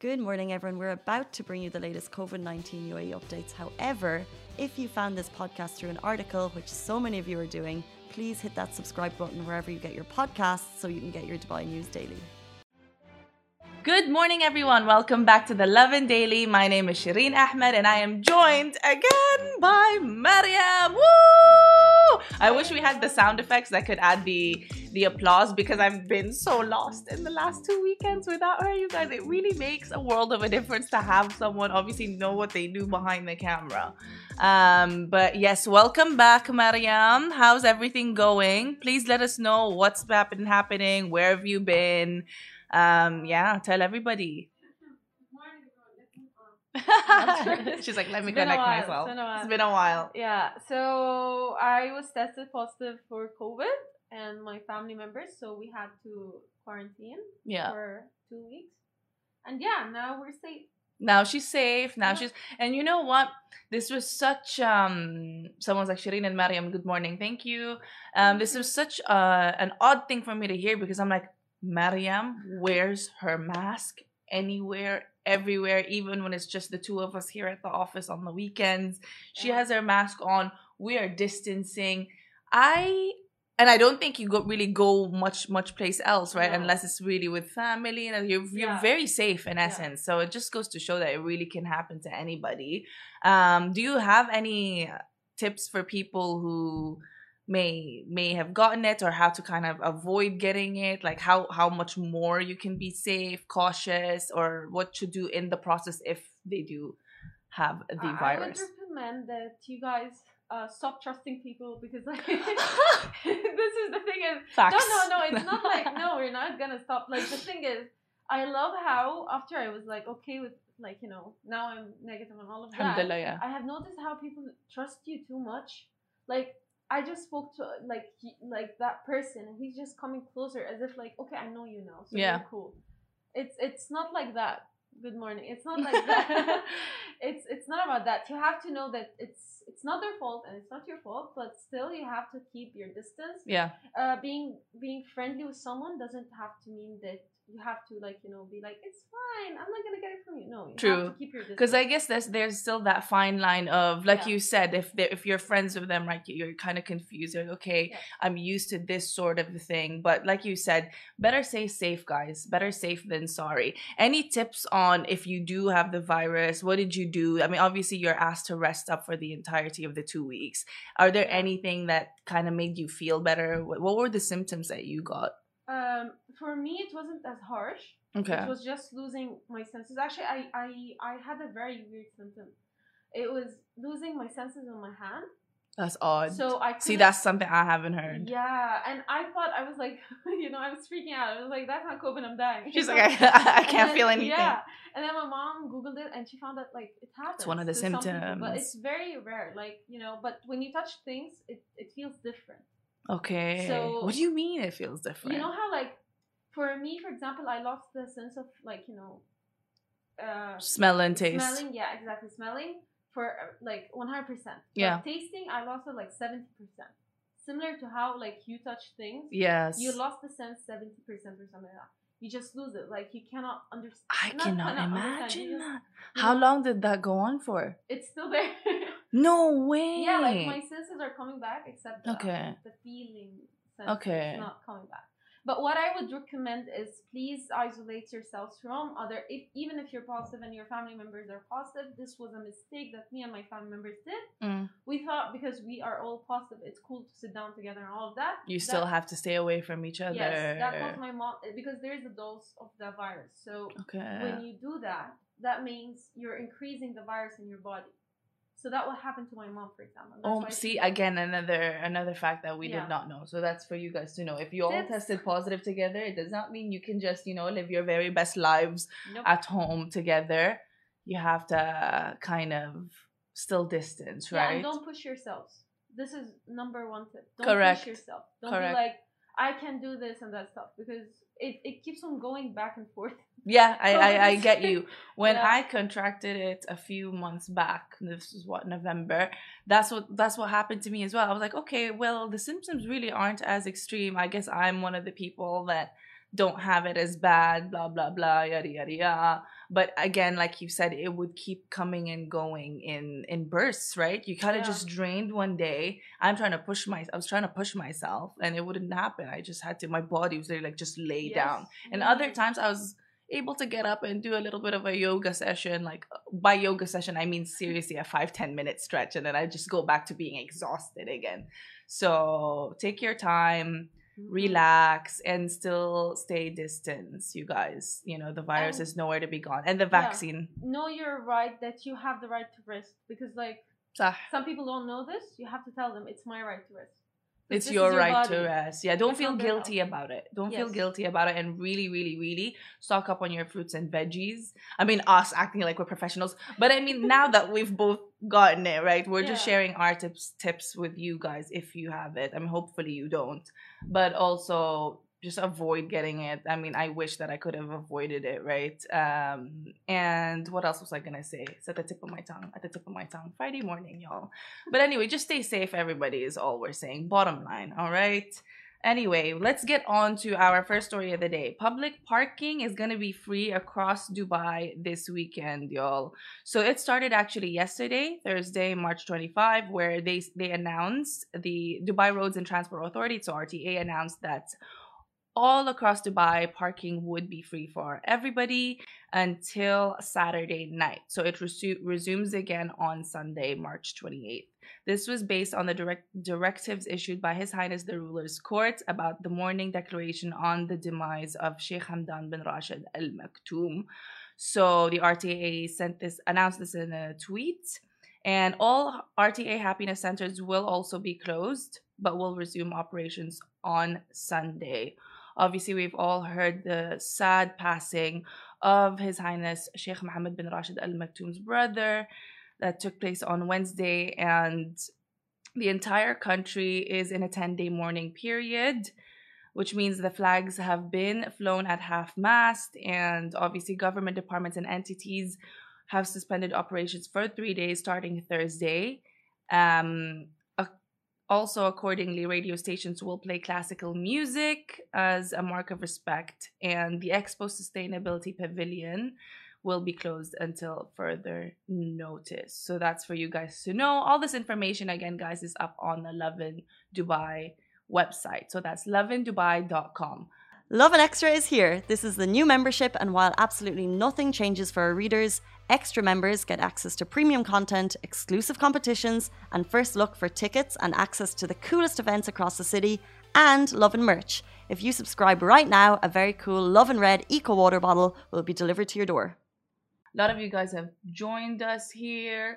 Good morning, everyone. We're about to bring you the latest COVID-19 UAE updates. However, if you found this podcast through an article, which so many of you are doing, please hit that subscribe button wherever you get your podcasts so you can get your Dubai news daily. Good morning, everyone. Welcome back to the Lovin Daily. My name is Shireen Ahmed and I am joined again by Mariam. Woo! I wish we had the sound effects that could add the applause because I've been so lost in the last 2 weekends without her, you guys. It really makes a world of a difference to have someone obviously know what they do behind the camera. But yes, welcome back, Mariam. How's everything going? Please let us know what's been happening. Where have you been? Tell everybody. She's like, let me connect myself. It's been a while. Yeah, so I was tested positive for COVID and my family members, so we had to quarantine for 2 weeks. And now we're safe. Now she's safe. And you know what? This was such someone's like, Shireen and Mariam, good morning. Thank you. This was such an odd thing for me to hear because I'm like, Mariam wears her mask anywhere, everywhere, even when it's just the two of us here at the office on the weekends. She has her mask on. We are distancing. I don't think you really go much place else, right? No. Unless it's really with family, and you're very safe in essence. So it just goes to show that it really can happen to anybody. Do you have any tips for people who may have gotten it, or how to kind of avoid getting it, like how much more you can be safe, cautious, or what to do in the process if they do have the virus? I would recommend that you guys stop trusting people because like this is the thing is facts. No, it's not like no, we're not gonna stop. Like the thing is, I love how after I was like okay with like now I'm negative and all of that. Alhamdulillah, yeah. I have noticed how people trust you too much. Like I just spoke to like that person and he's just coming closer as if like, okay, I know you now, so you're cool. It's not like that. Good morning. It's not like that. it's not about that. You have to know that it's not their fault and it's not your fault, but still you have to keep your distance. Yeah. Being friendly with someone doesn't have to mean that you have to be like, it's fine, I'm not gonna get it from you. No, you have to keep your distance. Because I guess there's still that fine line of like you said, if you're friends with them, right, you're kind of confused. You're like, okay, I'm used to this sort of thing, but like you said, better say safe, guys. Better safe than sorry. Any tips on if you do have the virus? What did you do? I mean, obviously you're asked to rest up for the entirety of the 2 weeks. Are there anything that kind of made you feel better? What were the symptoms that you got? For me, it wasn't as harsh. Okay. It was just losing my senses. Actually, I had a very weird symptom. It was losing my senses in my hand. That's odd. So see, that's something I haven't heard. Yeah, and I thought I was like, I was freaking out. I was like, that's not COVID, I'm dying. She's like, I can't feel anything. Yeah, and then my mom Googled it and she found that like it happens. It's one of the symptoms, people, but it's very rare. Like but when you touch things, it feels different. Okay. So what do you mean it feels different? You know how like for me, for example, I lost the sense of like smell and taste. Smelling, yeah, exactly. Smelling for like 100%. Yeah. But tasting, I lost it like 70%. Similar to how like you touch things. Yes. You lost the sense 70% or something like that. You just lose it. Like you cannot understand. I cannot imagine that. How long did that go on for? It's still there. No way. Yeah, like my senses are coming back, except the feeling sense is not coming back. But what I would recommend is please isolate yourselves from even if you're positive and your family members are positive. This was a mistake that me and my family members did. We thought because we are all positive, it's cool to sit down together and all of that. You still have to stay away from each other. Yes, that was my mom, because there's a dose of the virus. So when you do that, that means you're increasing the virus in your body. So that will happen to my mom, for example. See, again, another fact that we did not know. So that's for you guys to know. If you all tested positive together, it does not mean you can just, live your very best lives at home together. You have to kind of still distance, right? Yeah, and don't push yourselves. This is number one tip. Don't push yourself. Don't be like, I can do this and that stuff, because it keeps on going back and forth. Yeah, I get you. When I contracted it a few months back, this is November, that's what happened to me as well. I was like, okay, well, the symptoms really aren't as extreme. I guess I'm one of the people that don't have it as bad, blah, blah, blah, yada, yada, yada. But again, like you said, it would keep coming and going in bursts, right? You kind of just drained one day. I was trying to push myself, and it wouldn't happen. I just had to. My body was really like just lay down. And other times I was able to get up and do a little bit of a yoga session. Like by yoga session, I mean seriously a 5-10 minute stretch, and then I just go back to being exhausted again. So take your time, relax, and still stay distance, you guys. You know, the virus is nowhere to be gone. And the vaccine. No, you're right that you have the right to rest, because like some people don't know this. You have to tell them it's my right to rest. It's your right to rest. Yeah, don't feel guilty about it. Don't feel guilty about it, and really, really, really stock up on your fruits and veggies. I mean, us acting like we're professionals, but I mean, now that we've both gotten it, right? We're just sharing our tips with you guys if you have it. I mean, hopefully you don't, but also just avoid getting it. I mean, I wish that I could have avoided it, right? And what else was I gonna say? It's at the tip of my tongue. Friday morning, y'all. But anyway, just stay safe, everybody, is all we're saying. Bottom line, all right? Anyway, let's get on to our first story of the day. Public parking is gonna be free across Dubai this weekend, y'all. So it started actually yesterday, Thursday, March 25, where they announced, the Dubai Roads and Transport Authority, so RTA, announced that all across Dubai, parking would be free for everybody until Saturday night. So it resumes again on Sunday, March 28th. This was based on the directives issued by His Highness the Ruler's Court about the mourning declaration on the demise of Sheikh Hamdan bin Rashid Al Maktoum. So the RTA announced this in a tweet. And all RTA happiness centers will also be closed, but will resume operations on Sunday. Obviously, we've all heard the sad passing of His Highness Sheikh Mohammed bin Rashid Al Maktoum's brother that took place on Wednesday, and the entire country is in a 10-day mourning period, which means the flags have been flown at half-mast, and obviously government departments and entities have suspended operations for 3 days starting Thursday. Also, accordingly, radio stations will play classical music as a mark of respect, and the Expo Sustainability Pavilion will be closed until further notice. So that's for you guys to know. All this information, again, guys, is up on the Lovin Dubai website. So that's lovindubai.com. Lovin Extra is here. This is the new membership, and while absolutely nothing changes for our readers, extra members get access to premium content, exclusive competitions, and first look for tickets and access to the coolest events across the city, and Lovin merch. If you subscribe right now, a very cool Lovin Red Eco Water bottle will be delivered to your door. A lot of you guys have joined us here.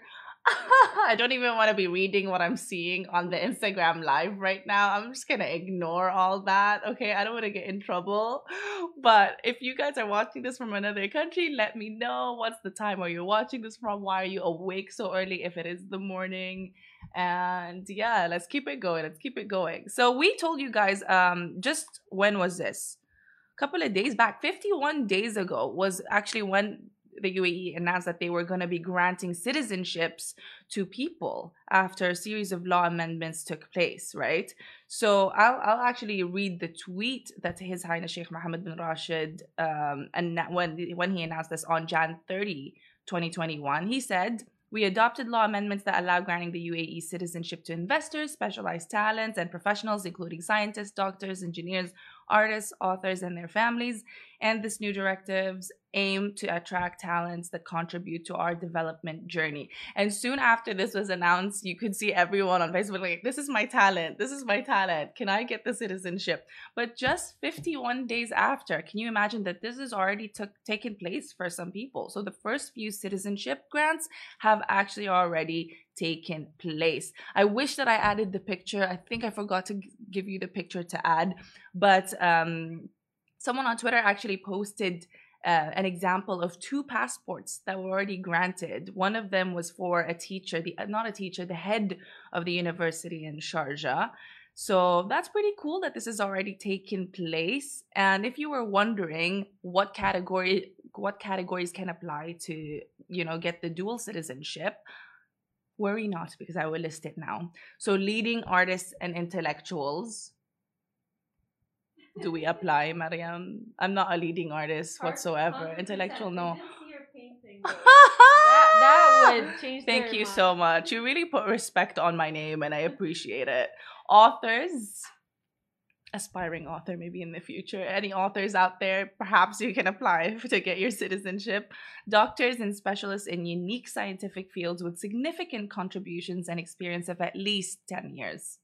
I don't even want to be reading what I'm seeing on the Instagram live right now. I'm just going to ignore all that. Okay, I don't want to get in trouble. But if you guys are watching this from another country, let me know. What's the time are you watching this from? Why are you awake so early if it is the morning? And yeah, let's keep it going. So we told you guys, just when was this? A couple of days back, 51 days ago was actually when the UAE announced that they were going to be granting citizenships to people after a series of law amendments took place, right? So I'll actually read the tweet that His Highness Sheikh Mohammed bin Rashid, and when he announced this on Jan 30, 2021, he said, "We adopted law amendments that allow granting the UAE citizenship to investors, specialized talents, and professionals, including scientists, doctors, engineers, artists, authors, and their families. And this new directives aim to attract talents that contribute to our development journey." And soon after this was announced, you could see everyone on Facebook like, this is my talent. Can I get the citizenship? But just 51 days after, can you imagine that this has already taken place for some people? So the first few citizenship grants have actually already taken place. I wish that I added the picture. I think I forgot to give you the picture to add, but someone on Twitter actually posted an example of 2 passports that were already granted. One of them was for a teacher, the head of the university in Sharjah. So that's pretty cool that this has already taken place. And if you were wondering what categories can apply to, get the dual citizenship, worry not, because I will list it now. So leading artists and intellectuals. Do we apply, Mariam? I'm not a leading artist whatsoever. Intellectual, no. girl. that would change. Thank you so much. You really put respect on my name, and I appreciate it. Authors, aspiring author, maybe in the future. Any authors out there, perhaps you can apply to get your citizenship. Doctors and specialists in unique scientific fields with significant contributions and experience of at least 10 years.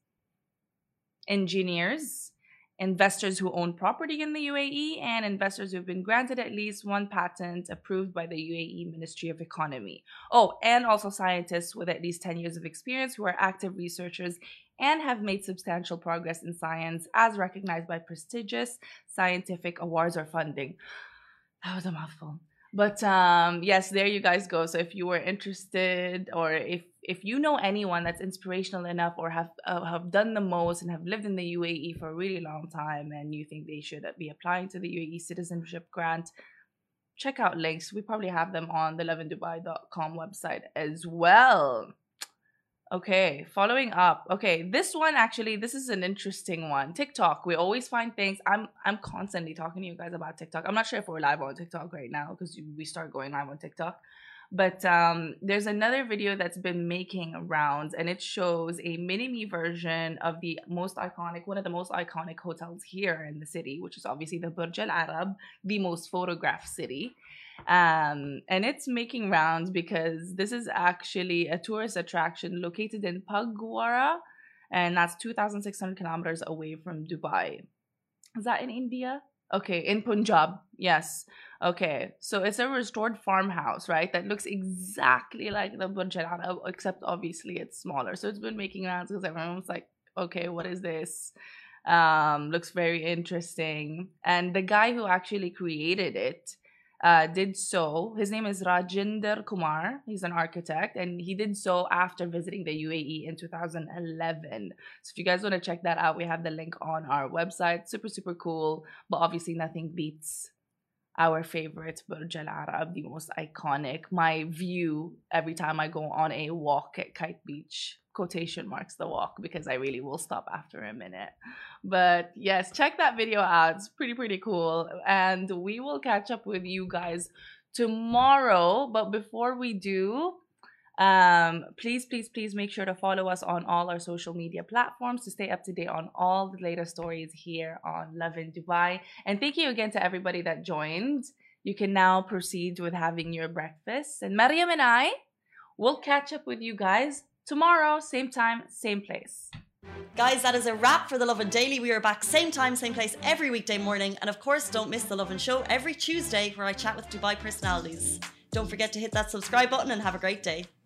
Engineers, investors who own property in the UAE, and investors who have been granted at least one patent approved by the UAE Ministry of Economy. Oh, and also scientists with at least 10 years of experience who are active researchers and have made substantial progress in science as recognized by prestigious scientific awards or funding. That was a mouthful. But yes, there you guys go. So if you were interested, or if you know anyone that's inspirational enough or have done the most and have lived in the UAE for a really long time and you think they should be applying to the UAE citizenship grant, check out links. We probably have them on the lovindubai.com website as well. Okay, following up. Okay, this one actually, this is an interesting one. TikTok. We always find things. I'm constantly talking to you guys about TikTok. I'm not sure if we're live on TikTok right now because we start going live on TikTok. But there's another video that's been making rounds, and it shows a mini-me version of the most iconic, one of the most iconic hotels here in the city, which is obviously the Burj Al Arab, the most photographed city. And it's making rounds because this is actually a tourist attraction located in Pagwara, and that's 2,600 kilometers away from Dubai. Is that in India? Okay, in Punjab, yes. Okay, so it's a restored farmhouse, right? That looks exactly like the Burj Al Arab, except obviously it's smaller. So it's been making rounds because everyone's like, okay, what is this? Looks very interesting. And the guy who actually created it did so. His name is Rajinder Kumar. He's an architect, and he did so after visiting the UAE in 2011. So if you guys want to check that out, we have the link on our website. Super, super cool. But obviously nothing beats our favorite Burj Al Arab, the most iconic. My view every time I go on a walk at Kite Beach, quotation marks the walk, because I really will stop after a minute. But yes, check that video out. It's pretty, pretty cool. And we will catch up with you guys tomorrow. But before we do, please, please, please make sure to follow us on all our social media platforms to stay up to date on all the latest stories here on Lovin Dubai. And thank you again to everybody that joined. You can now proceed with having your breakfast. And Mariam and I will catch up with you guys tomorrow, same time, same place. Guys, that is a wrap for The Lovin Daily. We are back same time, same place every weekday morning. And of course, don't miss The Lovin Show every Tuesday where I chat with Dubai personalities. Don't forget to hit that subscribe button and have a great day.